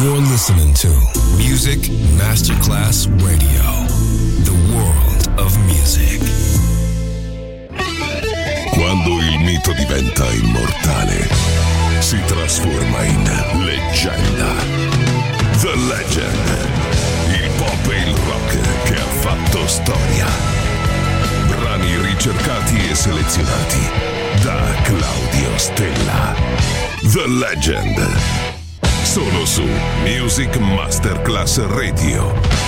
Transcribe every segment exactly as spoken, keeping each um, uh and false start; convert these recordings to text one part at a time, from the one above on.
You're listening to Music Masterclass Radio, the world of music. Quando il mito diventa immortale, si trasforma in leggenda. The Legend, il pop e il rock che ha fatto storia. Brani ricercati e selezionati da Claudio Stella. The Legend, solo su Music Masterclass Radio.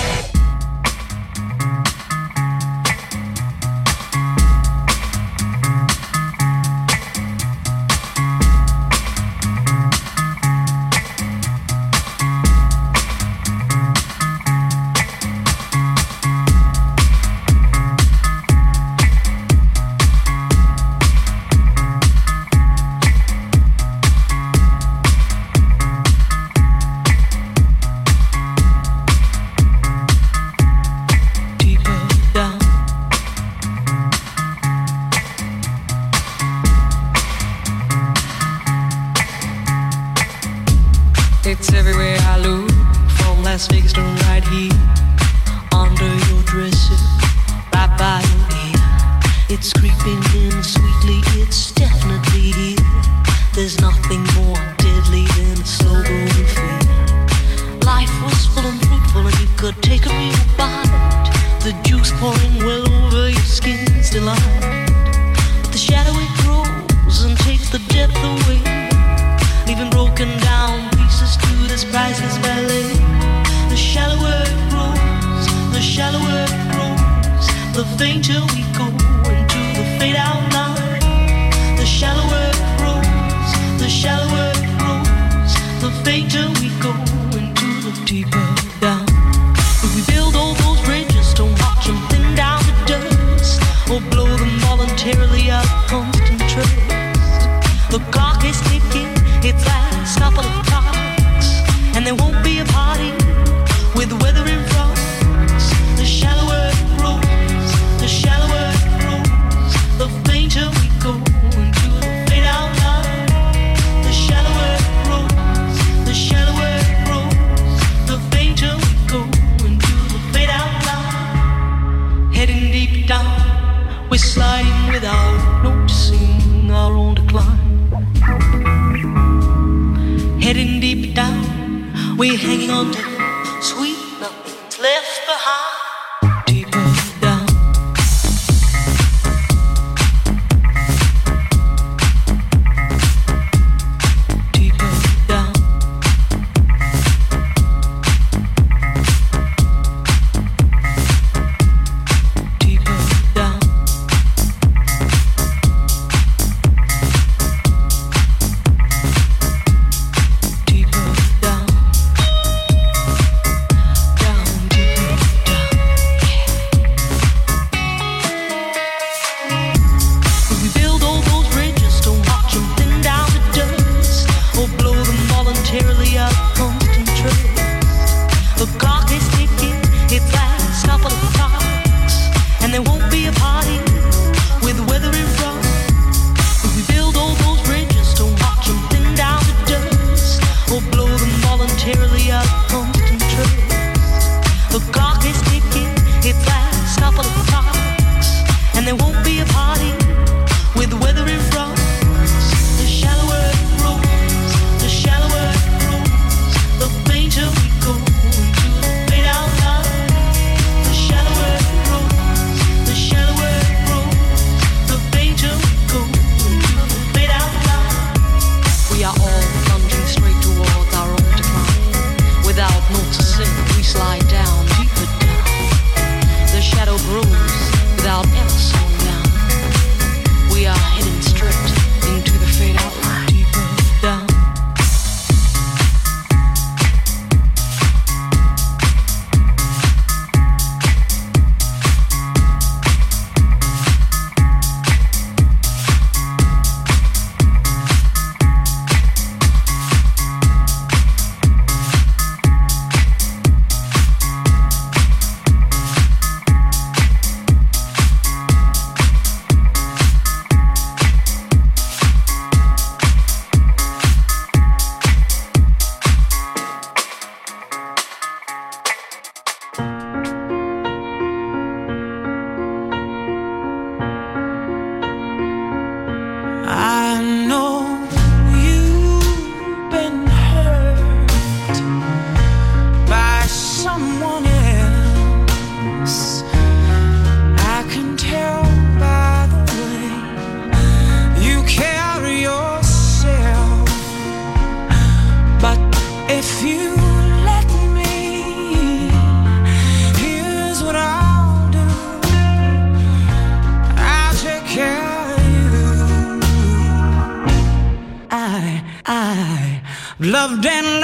loved and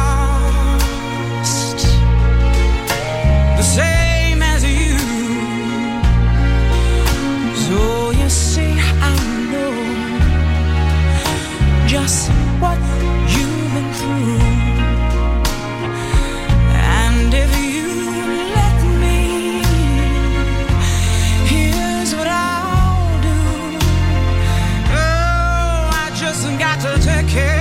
lost, the same as you. So you see, I know just what you've been through. And if you let me, here's what I'll do. Oh, I just got to take care.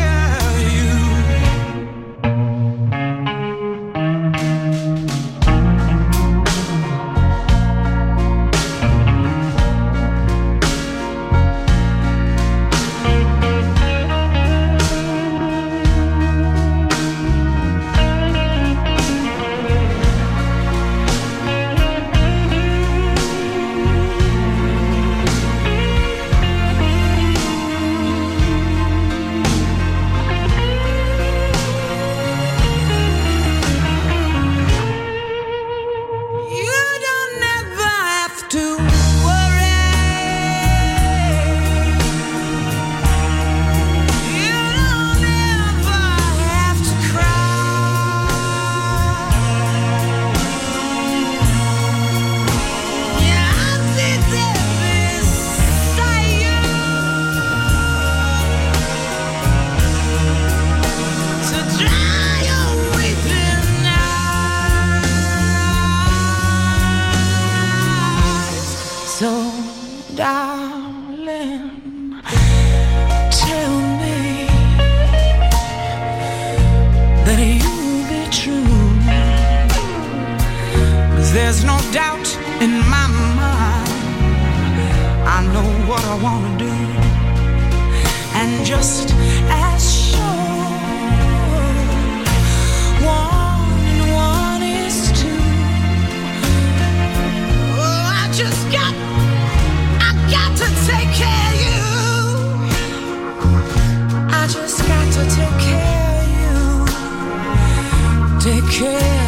There's no doubt in my mind, I know what I want to do. And just as sure, one and one is two. Oh, I just got, I got to take care of you. I just got to take care of you. Take care of you.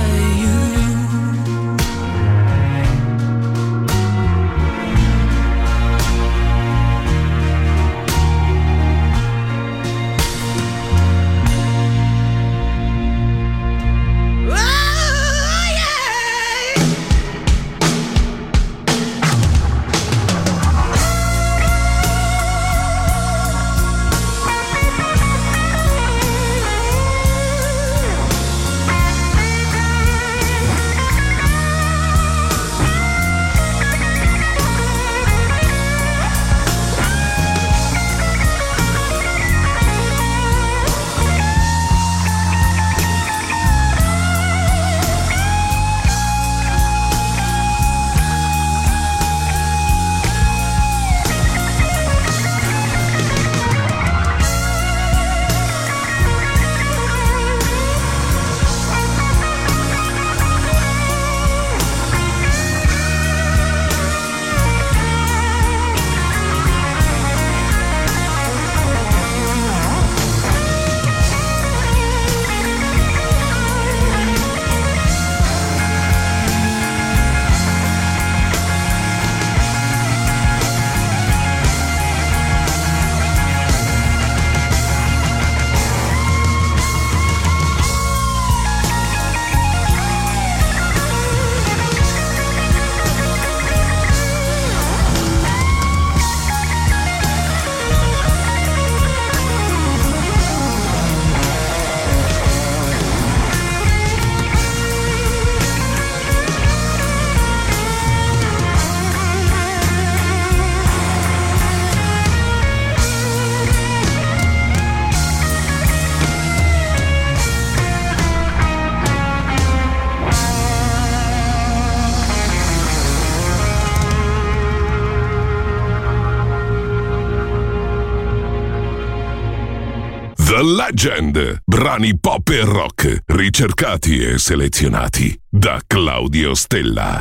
The Legend, brani pop e rock, ricercati e selezionati da Claudio Stella.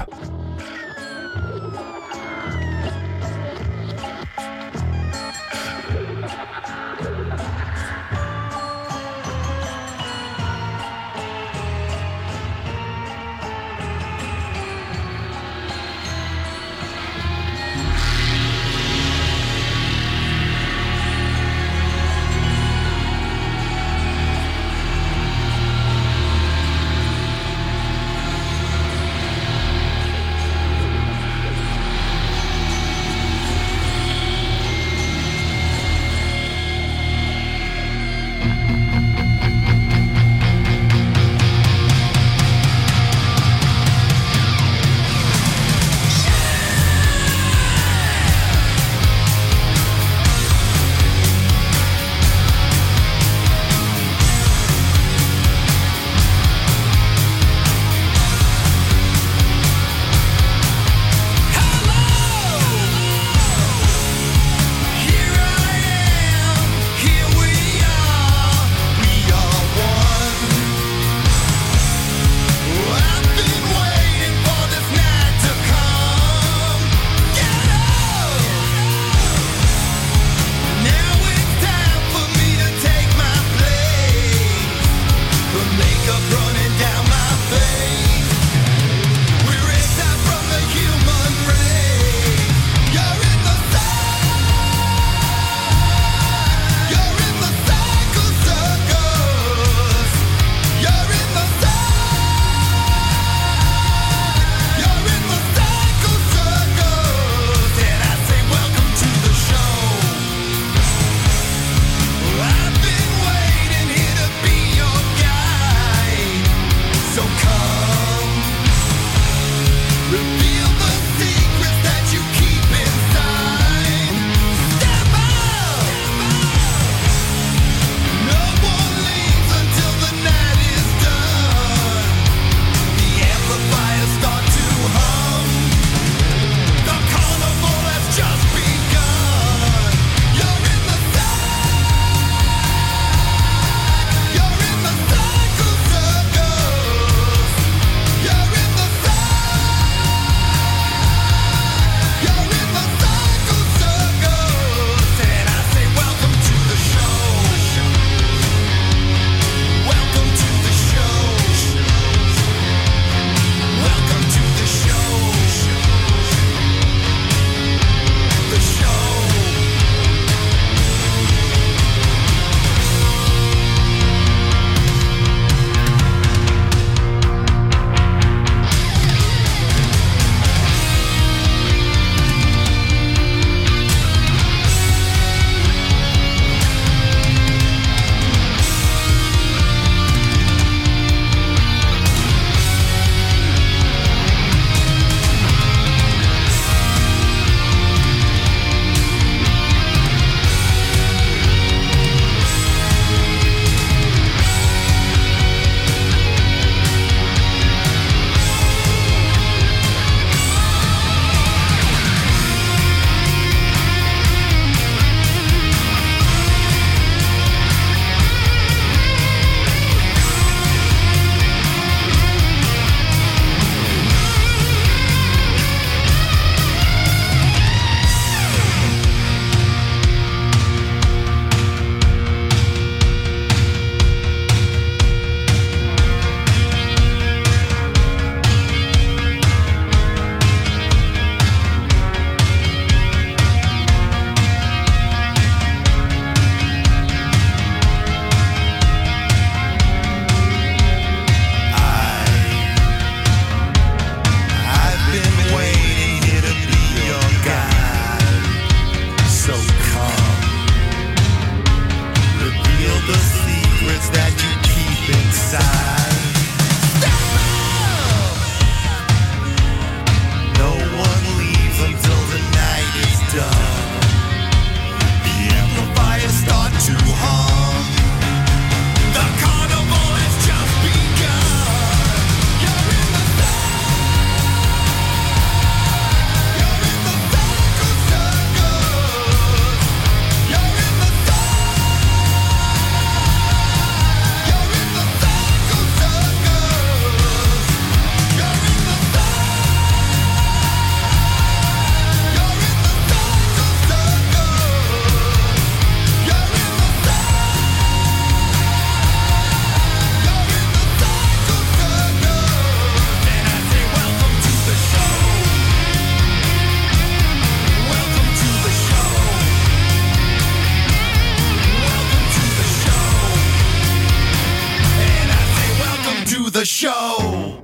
the show.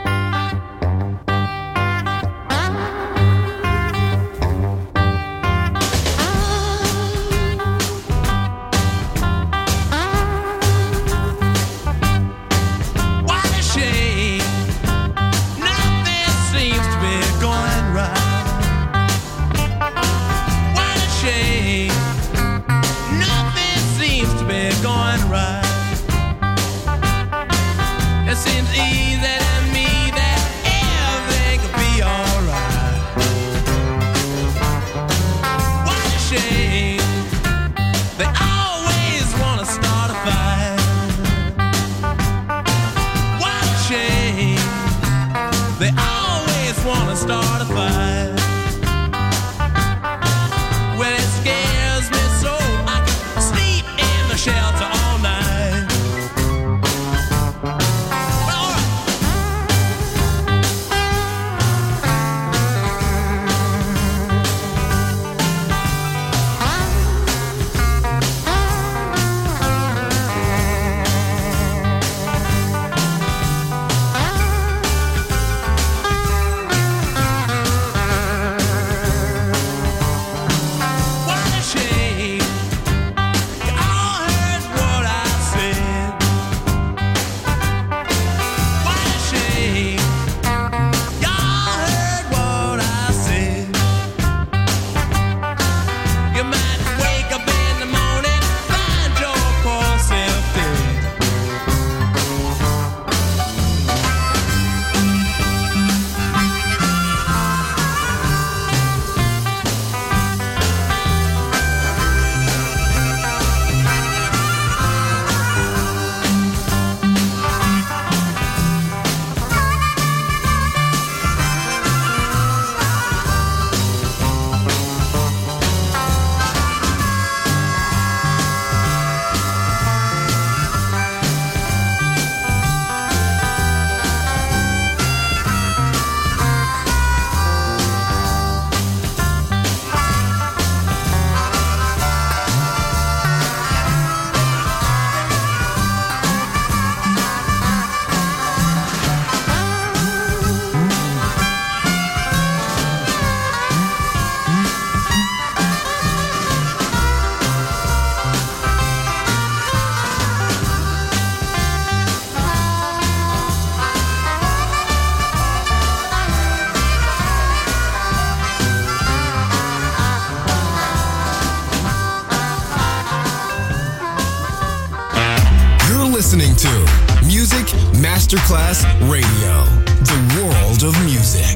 Listening to Music Masterclass Radio, the world of music.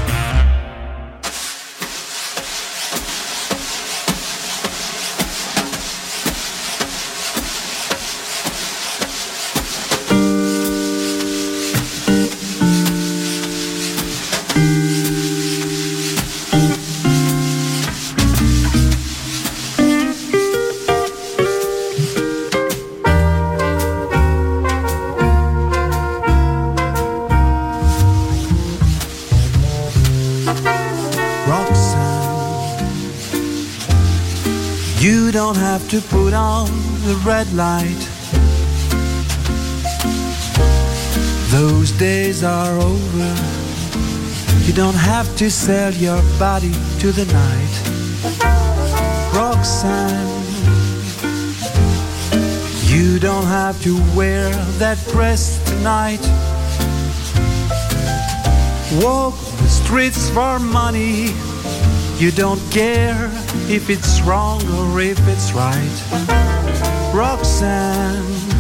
Don't have to put on the red light. Those days are over. You don't have to sell your body to the night. Roxanne, you don't have to wear that dress tonight. Walk the streets for money. You don't care if it's wrong or if it's right. Roxanne,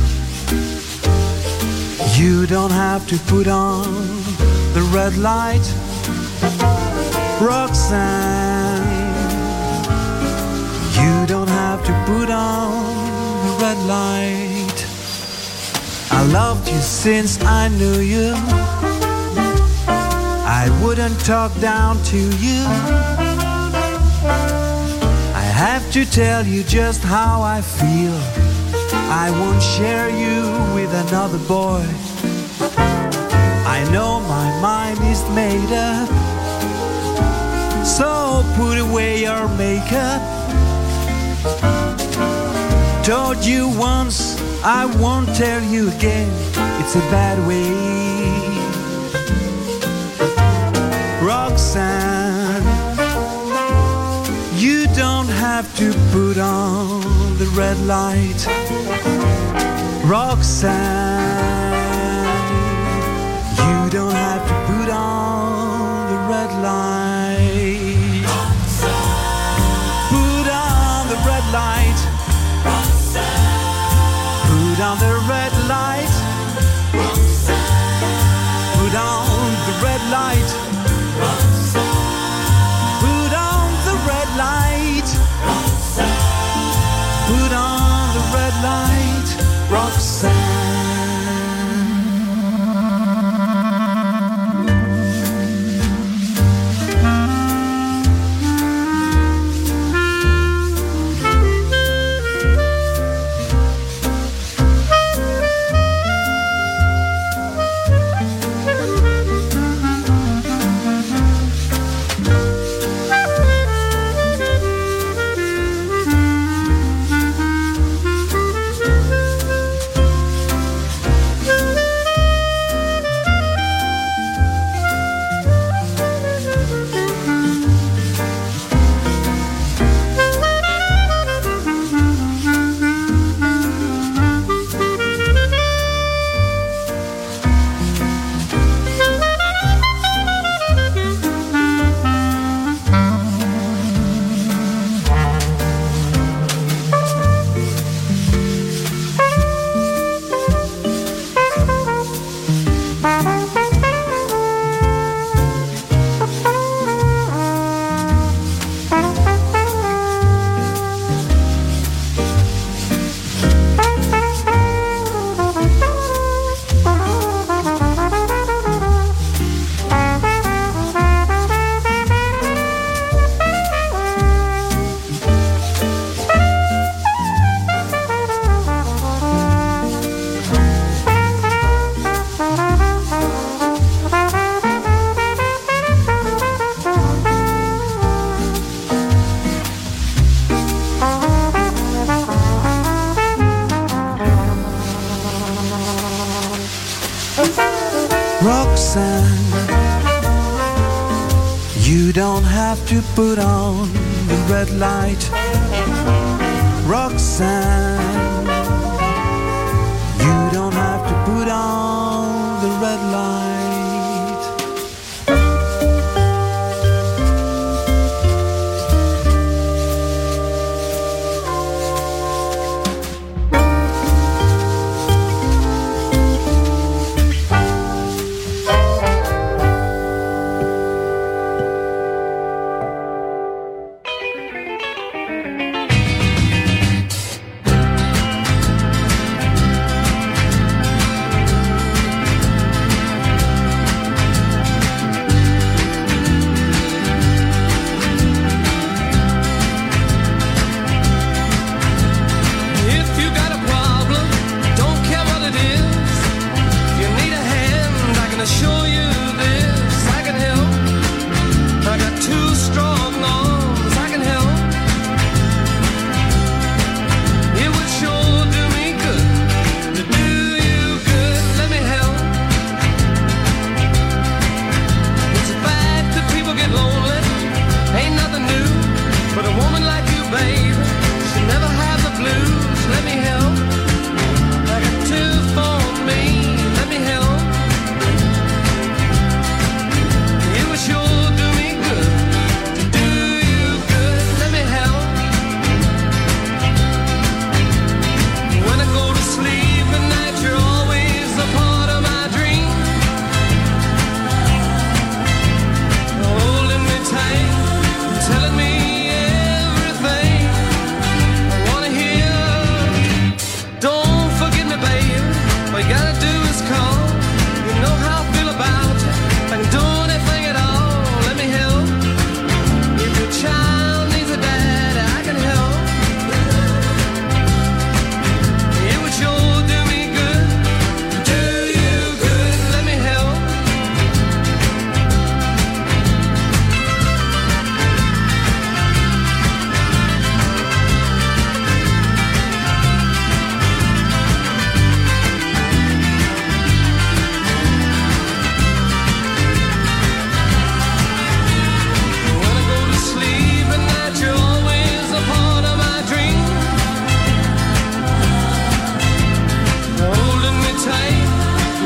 you don't have to put on the red light. Roxanne, you don't have to put on the red light. I loved you since I knew you. I wouldn't talk down to you. I have to tell you just how I feel. I won't share you with another boy. I know my mind is made up, so put away your makeup. Told you once I won't tell you again, it's a bad way. Roxanne, you don't have to put on the red light. Roxanne, you don't have to put on the red light. Roxanne, put on the red light. Roxanne, put on the red light. Roxanne, put on the red light. Roxanne, put on the red light. Roxanne, put on the red light. Roxanne. Roxanne, you don't have to put on the red light. Roxanne, you don't have to put on the red light.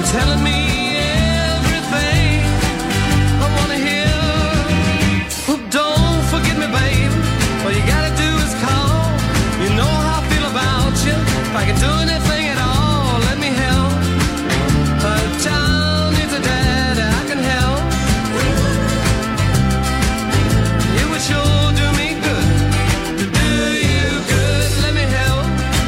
telling me everything I wanna hear. Well, don't forget me, babe. All you gotta do is call. You know how I feel about you. If I can do anything at all, let me help. A child needs a dad, I can help. It would sure do me good to do you good. Let me help.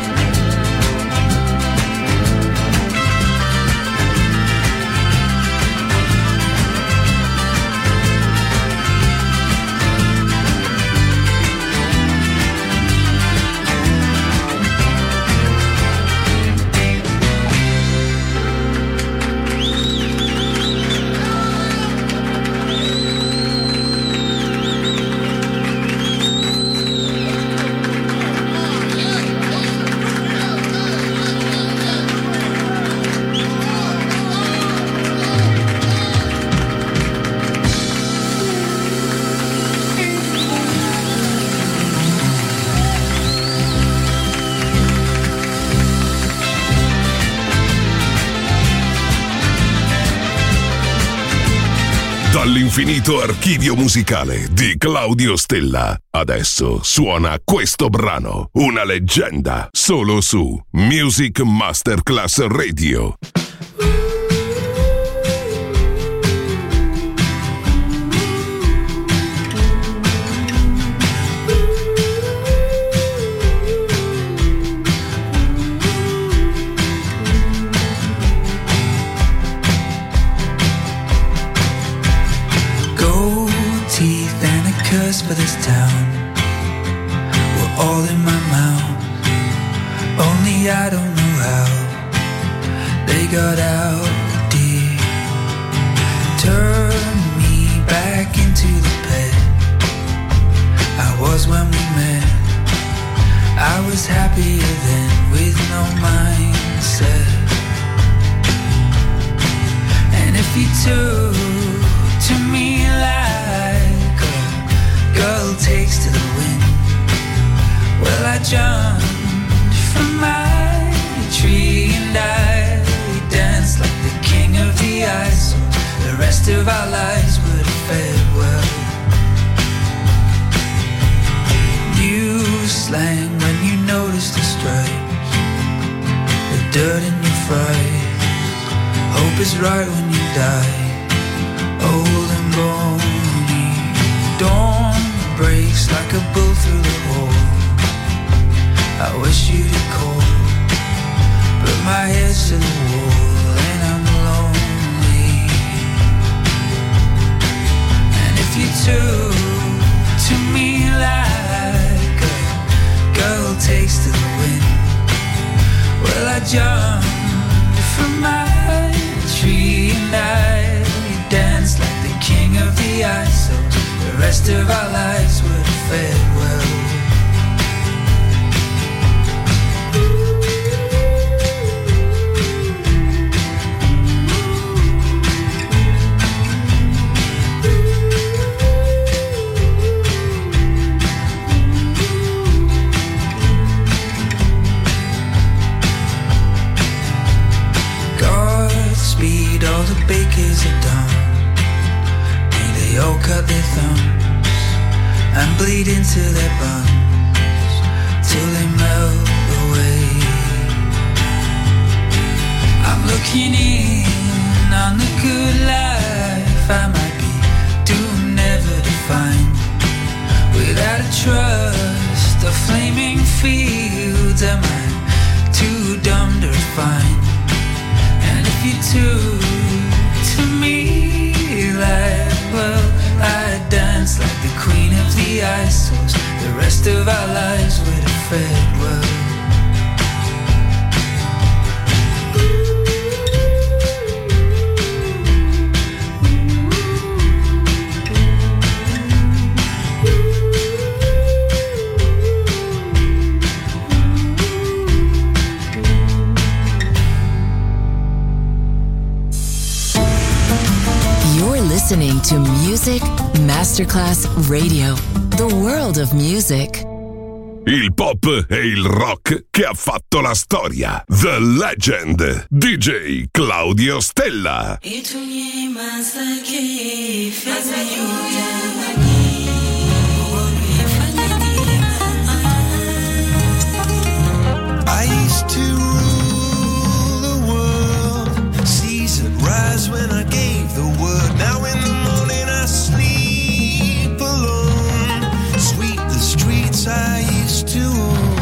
Dall'infinito archivio musicale di Claudio Stella. Adesso suona questo brano, una leggenda, solo su Music Masterclass Radio. For this town, we're all in my mouth. Only I don't know how they got out, dear. Turn me back into the pit I was when we met. I was happier then with no mindset. And if you took to me like girl takes to the wind, well, I jumped from my tree and I danced like the king of the ice. So the rest of our lives would have fared well. New slang when you notice the stripes, the dirt in your fries. Hope is right when you die, old and bony. Dawn breaks like a bull through the hole. I wish you'd call, but my head's to the wall and I'm lonely. And if you took to me like a girl takes to the wind, well, I jumped from my tree and I danced like the king of the ice. So the rest of our lives would have fared well. Godspeed, all the bakers are done. May they all cut their thumbs and bleed into their buns till they melt away. I'm looking in on the good life I might be doomed never to find. Without a trust of flaming fields, am I too dumb to refine? And if you took to me like, well, I dance like the queen of the ice. So the rest of our lives would have fared well. Listening to Music Masterclass Radio, the world of music. Il pop e il rock che ha fatto la storia. The Legend. D J Claudio Stella. I used to rule the world. Seas would rise when I gave the word. Now in the morning I sleep alone. Sweep the streets I used to own.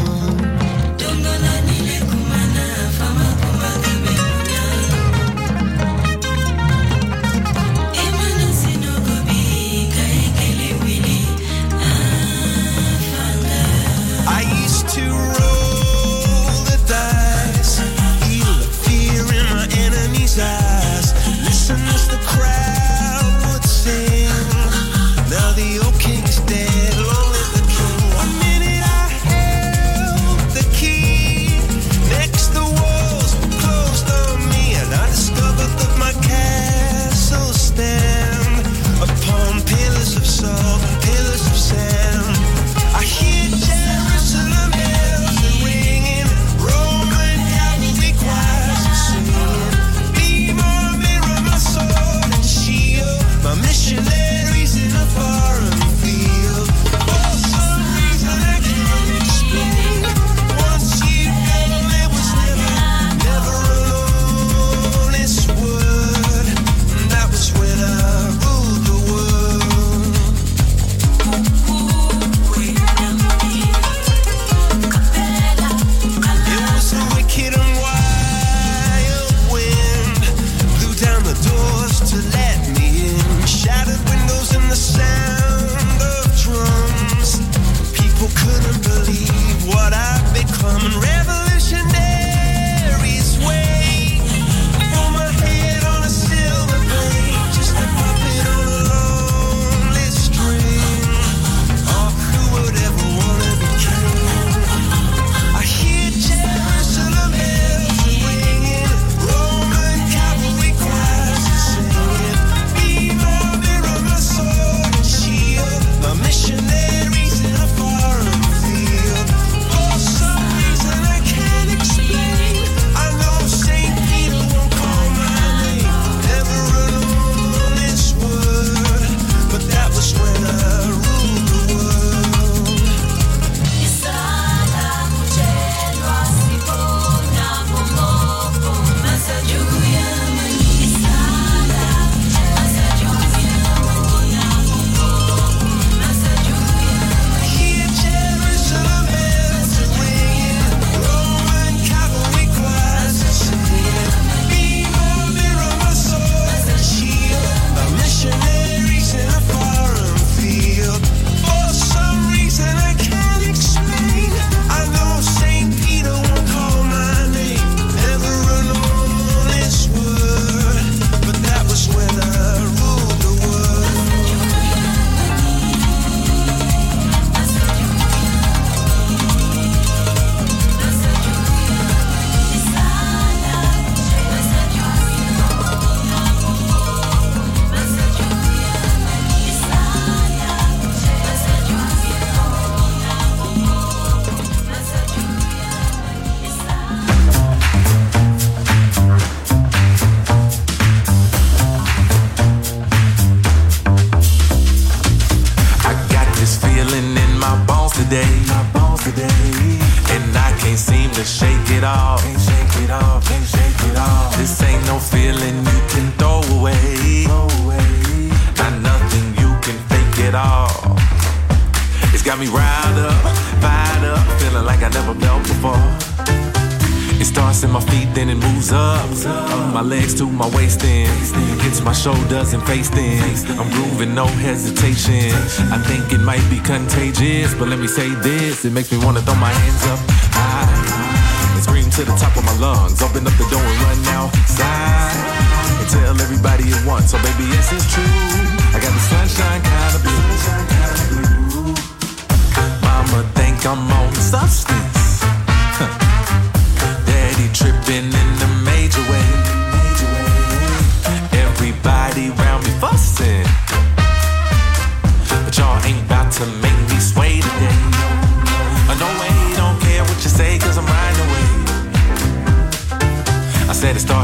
I used to roll the dice, feel the fear in my enemy's eyes. Listen as the crowd would sing. Now the old king is dead, long live the king. One minute I held the key, next the walls were closed on me, and I discovered that my castle stand upon pillars of salt and pillars of sand. I hear Jerusalem bells are ringing, Roman cavalry choirs are singing. Be my mirror, my sword and shield, my missionaries in a foreign field. For some reason I can't explain, once you go there was never, never alone. This word, that was when I ruled the world. It was a wicked and wild wind, blew down the doors to let me in. Shattered windows and the sound of drums. People couldn't believe what I've become. And revolutionaries wait for my head on a silver plate, just a puppet on a lonely string. Oh, who would ever wanna be king? I hear Jerusalem bells are ringing, Roman cavalry choirs are singing. Be my mirror, my sword and shield, my missionaries in a foreign field. For some reason I can't explain, I know Saint Peter won't call my name, never alone this word, but that was when I ruled the world. Hear Jerusalem bells are ringing, Roman cavalry choirs are singing. Be my mirror, my sword and shield, my missionaries in a foreign field. For some reason I can't explain, I know Saint Peter won't call my name, never alone this word, but that was when I ruled the world. I got this feeling in my bones today, my bones today, and I can't seem to shake it off. Can't shake it off, can't shake it off. This ain't no feeling you can throw away, throw away. Not nothing you can fake it off. It's got me riled up, fired up, feeling like I never felt before. It starts in my feet, then it moves up, up my legs to my waist, then hits my shoulders and face, then I'm grooving, no hesitation. I think it might be contagious, but let me say this, it makes me wanna throw my hands up high and scream to the top of my lungs. Open up the door and run outside and tell everybody at once. So baby, yes, it's true, I got the sunshine kind of blue. Mama think I'm on substance, Daddy tripping in a major way. Everybody round me fussing, but y'all ain't about to make me sway today. I know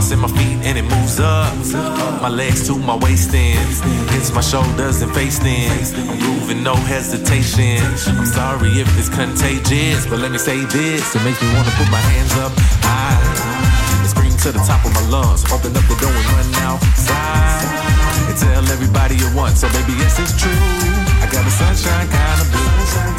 crossing my feet and it moves up. My legs to my waist in, hits my shoulders and face in. I'm grooving, no hesitation. I'm sorry if it's contagious, but let me say this. It makes me wanna put my hands up high and scream to the top of my lungs. Open up the door and run outside and tell everybody at once. So baby, yes, it's true. I got the sunshine kind of blue.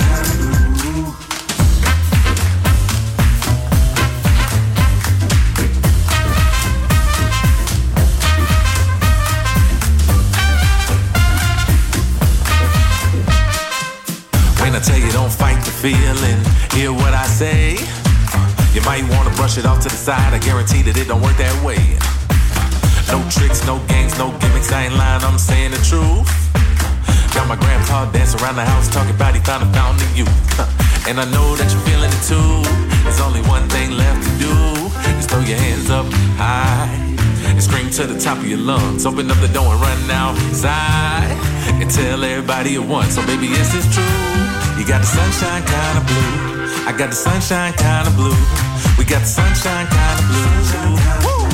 When I tell you don't fight the feeling, hear what I say. You might wanna brush it off to the side. I guarantee that it don't work that way. No tricks, no games, no gimmicks. I ain't lying, I'm saying the truth. Got my grandpa dancing around the house talking about he found a fountain in you. And I know that you're feeling it too. There's only one thing left to do. Just throw your hands up high and scream to the top of your lungs. Open up the door and run outside and tell everybody at once. So baby, yes, it's true. You got the sunshine kind of blue. I got the sunshine kind of blue. We got the sunshine kind of blue. Woo!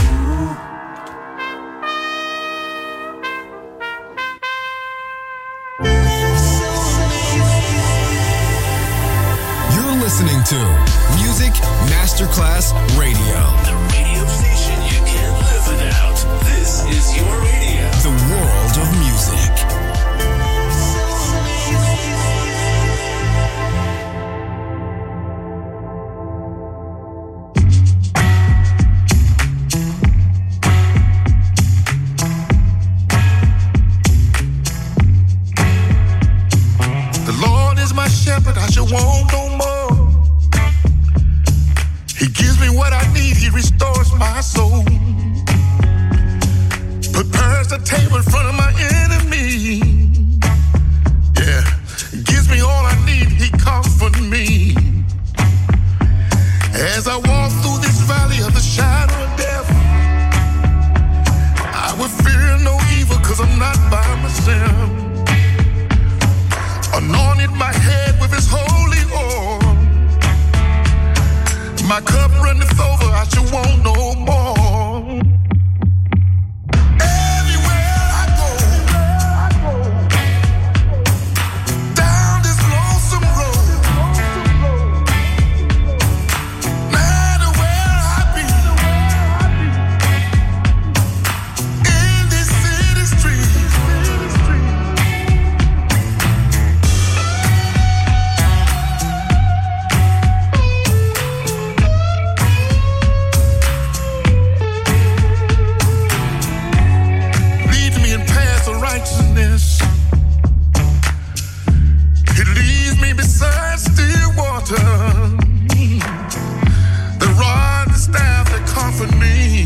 You're listening to Music Masterclass Radio. The radio station you can't live without. This is your radio. The world of music. Shepherd, I should want no more. He gives me what I need, he restores my soul. Prepares the table in front of my enemy. Yeah, gives me all I need, he comforts me. As I walk through this valley of the shadow of death, I will fear no evil, cause I'm not by myself. Anointed my head with his holy oil. My cup runneth over, I should want no more. Everywhere I go, down this lonesome road, no matter where I be, in this city street. Righteousness. It leads me beside still water. The rod and staff that comfort me.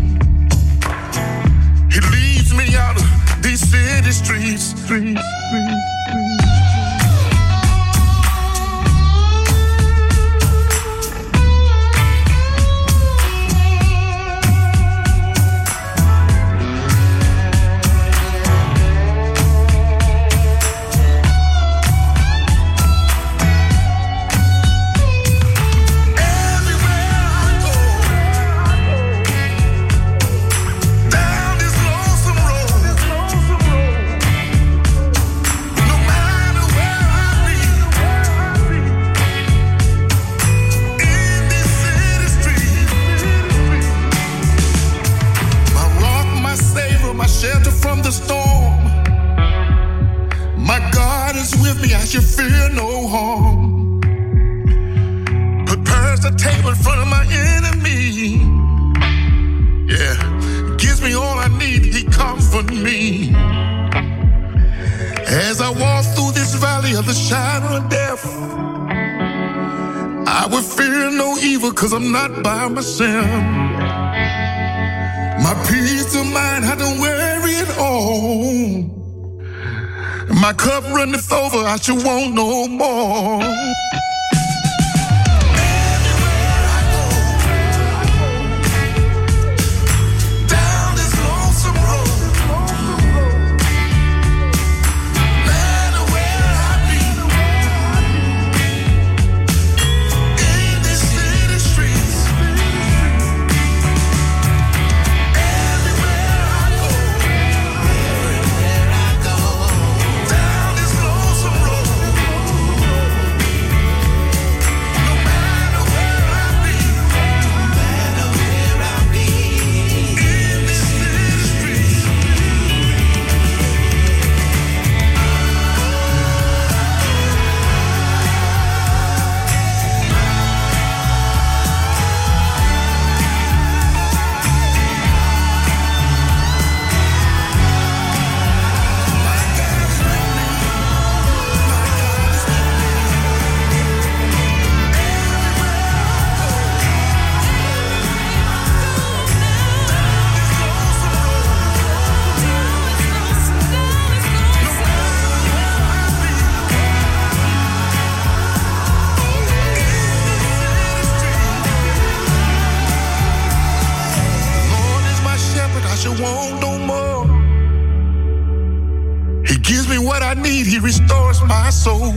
It leads me out of these city streets, streets, streets. Shelter from the storm. My God is with me, I should fear no harm. Prepares the table in front of my enemy. Yeah, gives me all I need, he comforts me. As I walk through this valley of the shadow of death, I will fear no evil, cause I'm not by myself. My peace of mind, I don't worry at all. My cup runneth over, I should want no more. should want no more. He gives me what I need, he restores my soul.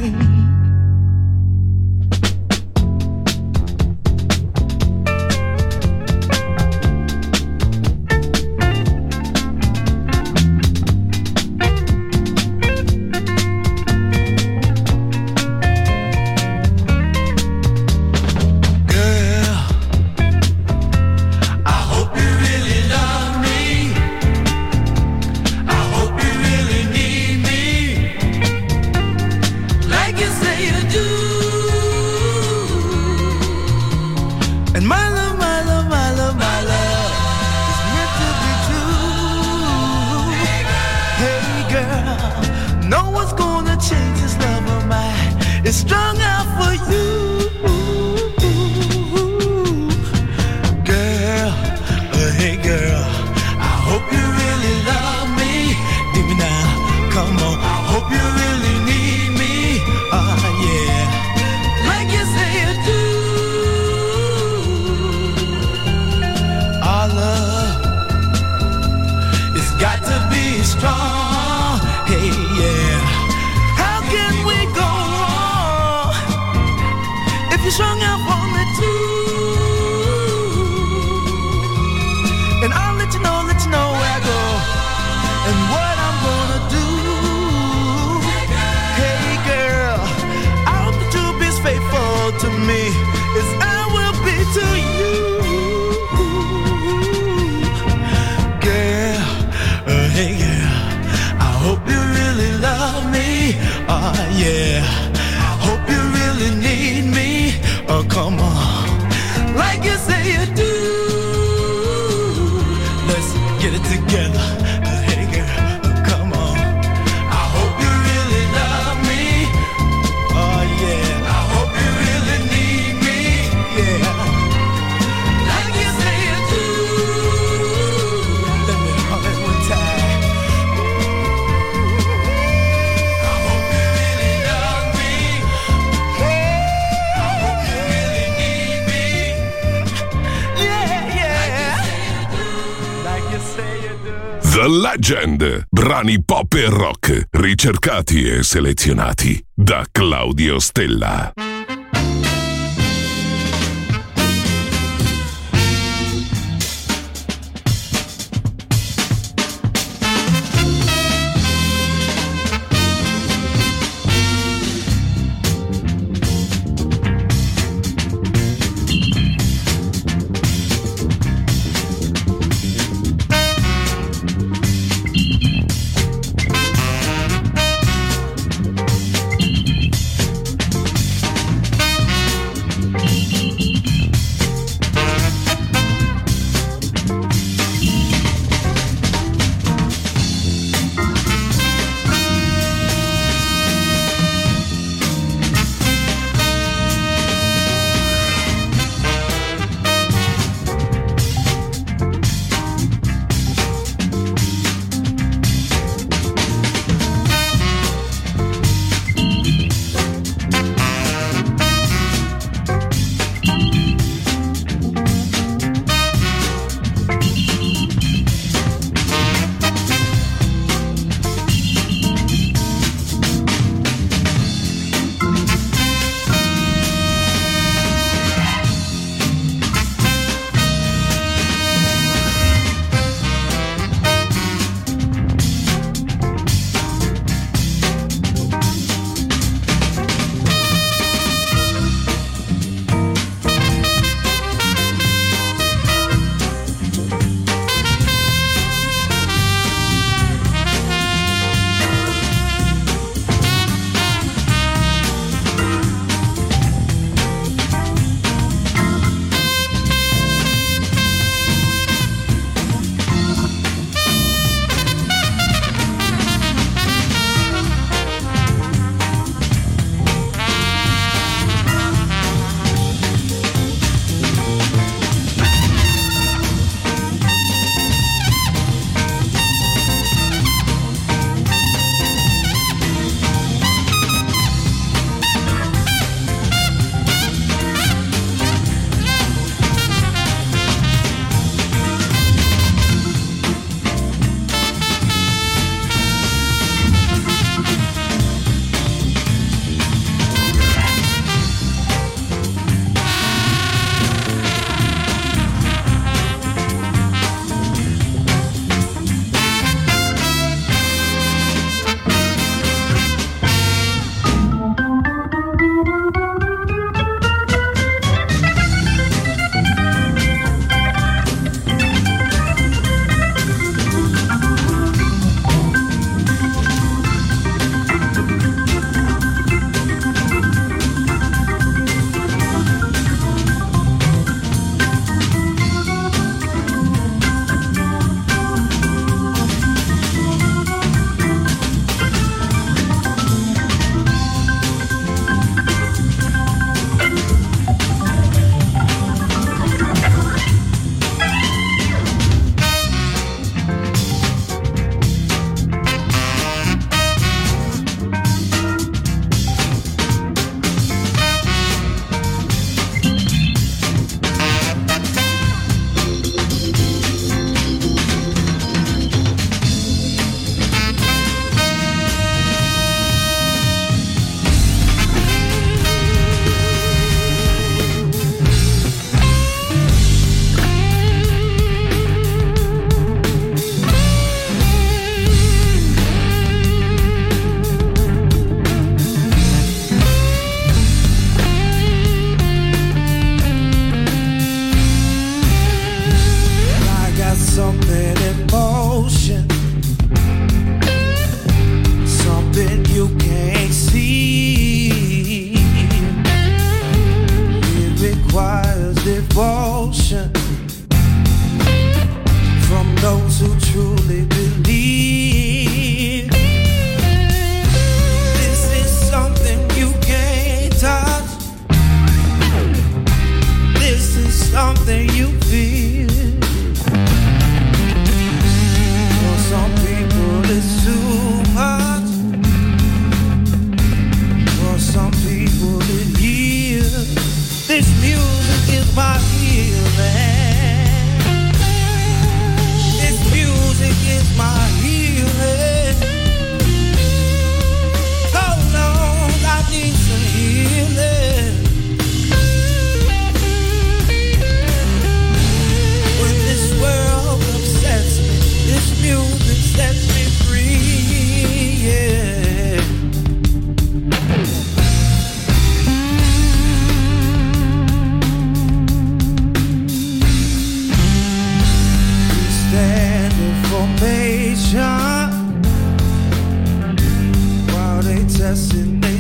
The Legend, brani pop e rock, ricercati e selezionati da Claudio Stella. truly believe. This is something you can't touch. This is something you feel. For some people it's too much. For some people it heals. This music is my healing. This music is my healing. Oh Lord, I need some healing. When this world upsets me, this music sets me free. Yeah. Stand in formation while they testing